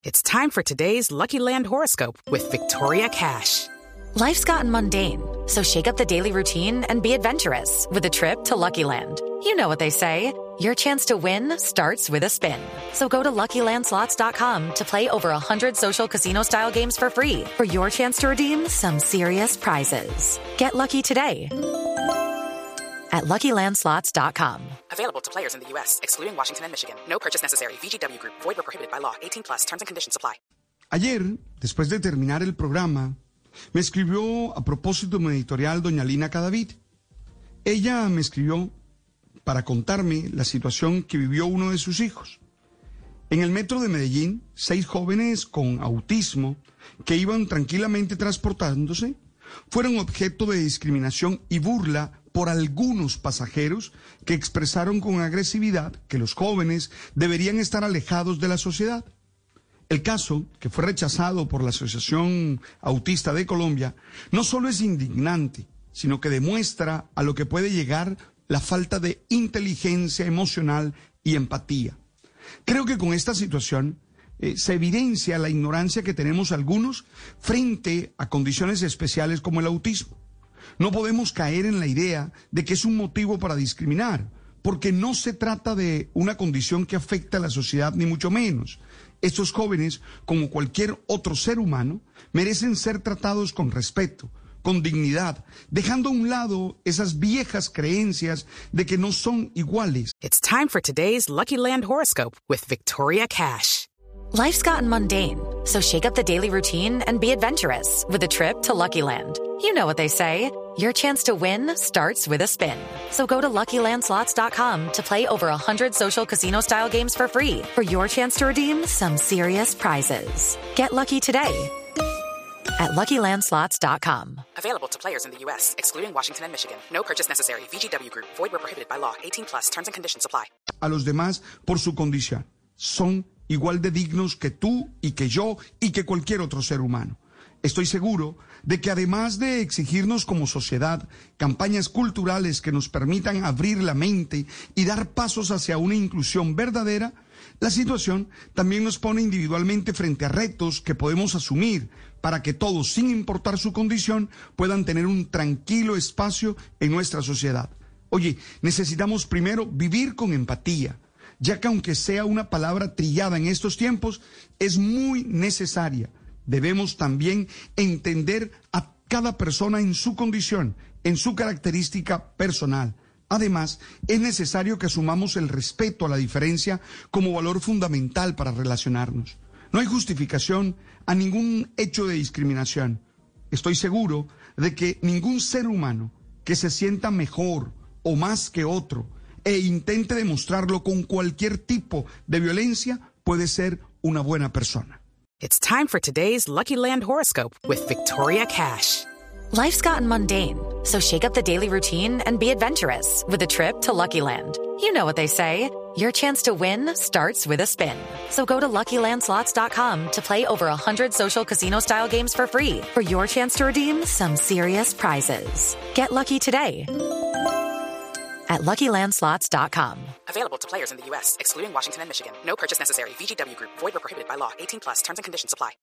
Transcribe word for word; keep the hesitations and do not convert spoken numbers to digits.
It's time for today's Lucky Land horoscope with Victoria Cash. Life's gotten mundane, so shake up the daily routine and be adventurous with a trip to Lucky Land. You know what they say, your chance to win starts with a spin. So go to Lucky Land Slots dot com to play over one hundred social casino-style games for free for your chance to redeem some serious prizes. Get lucky today at Lucky Land Slots dot com. Available to players in the U S, excluding Washington and Michigan. No purchase necessary. V G W Group. Void or prohibited by law. eighteen plus. Terms and conditions apply. Ayer, después de terminar el programa, me escribió a propósito de mi editorial doña Lina Cadavid. Ella me escribió para contarme la situación que vivió uno de sus hijos. En el metro de Medellín, seis jóvenes con autismo que iban tranquilamente transportándose fueron objeto de discriminación y burla por algunos pasajeros que expresaron con agresividad que los jóvenes deberían estar alejados de la sociedad. El caso, que fue rechazado por la Asociación Autista de Colombia, no solo es indignante, sino que demuestra a lo que puede llegar la falta de inteligencia emocional y empatía. Creo que con esta situación eh, se evidencia la ignorancia que tenemos algunos frente a condiciones especiales como el autismo. No podemos caer en la idea de que es un motivo para discriminar, porque no se trata de una condición que afecta a la sociedad, ni mucho menos. Estos jóvenes, como cualquier otro ser humano, merecen ser tratados con respeto, con dignidad, dejando a un lado esas viejas creencias de que no son iguales. It's time for today's Lucky Land horoscope with Victoria Cash. Life's gotten mundane, so shake up the daily routine and be adventurous with a trip to Lucky Land. You know what they say, your chance to win starts with a spin. So go to Lucky Land Slots dot com to play over one hundred social casino-style games for free for your chance to redeem some serious prizes. Get lucky today at Lucky Land Slots dot com. Available to players in the U S, excluding Washington and Michigan. No purchase necessary. V G W Group. Void or prohibited by law. eighteen plus. Terms and conditions apply. A los demás por su condición. Son igual de dignos que tú y que yo y que cualquier otro ser humano. Estoy seguro de que además de exigirnos como sociedad campañas culturales que nos permitan abrir la mente y dar pasos hacia una inclusión verdadera, la situación también nos pone individualmente frente a retos que podemos asumir para que todos, sin importar su condición, puedan tener un tranquilo espacio en nuestra sociedad. Oye, necesitamos primero vivir con empatía, ya que aunque sea una palabra trillada en estos tiempos, es muy necesaria. Debemos también entender a cada persona en su condición, en su característica personal. Además, es necesario que asumamos el respeto a la diferencia como valor fundamental para relacionarnos. No hay justificación a ningún hecho de discriminación. Estoy seguro de que ningún ser humano que se sienta mejor o más que otro e intente demostrarlo con cualquier tipo de violencia puede ser una buena persona. It's time for today's Lucky Land horoscope with Victoria Cash. Life's gotten mundane, so shake up the daily routine and be adventurous with a trip to Lucky Land. You know what they say, your chance to win starts with a spin. So go to Lucky Land Slots dot com to play over one hundred social casino-style games for free for your chance to redeem some serious prizes. Get lucky today at Lucky Land Slots dot com. Available to players in the U S, excluding Washington and Michigan. No purchase necessary. V G W Group. Void or prohibited by law. eighteen plus. Terms and conditions apply.